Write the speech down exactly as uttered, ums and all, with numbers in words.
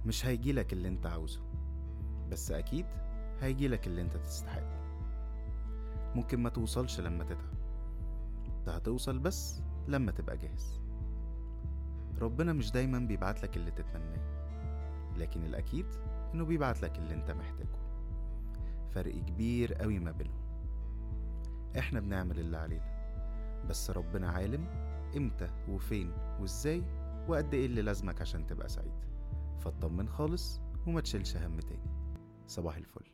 مش هيجيلك اللي انت عاوزه، بس اكيد هيجيلك اللي انت تستحقه. ممكن ما توصلش لما تتعب، انت هتوصل بس لما تبقى جاهز. ربنا مش دايما بيبعتلك اللي تتمناه، لكن الاكيد انه بيبعتلك اللي انت محتاجه. فرق كبير قوي ما بينهم. احنا بنعمل اللي علينا، بس ربنا عالم امتى وفين وازاي وقد ايه اللي لازمك عشان تبقى سعيد. فاطمن خالص وما تشيلش هم تاني. صباح الفل.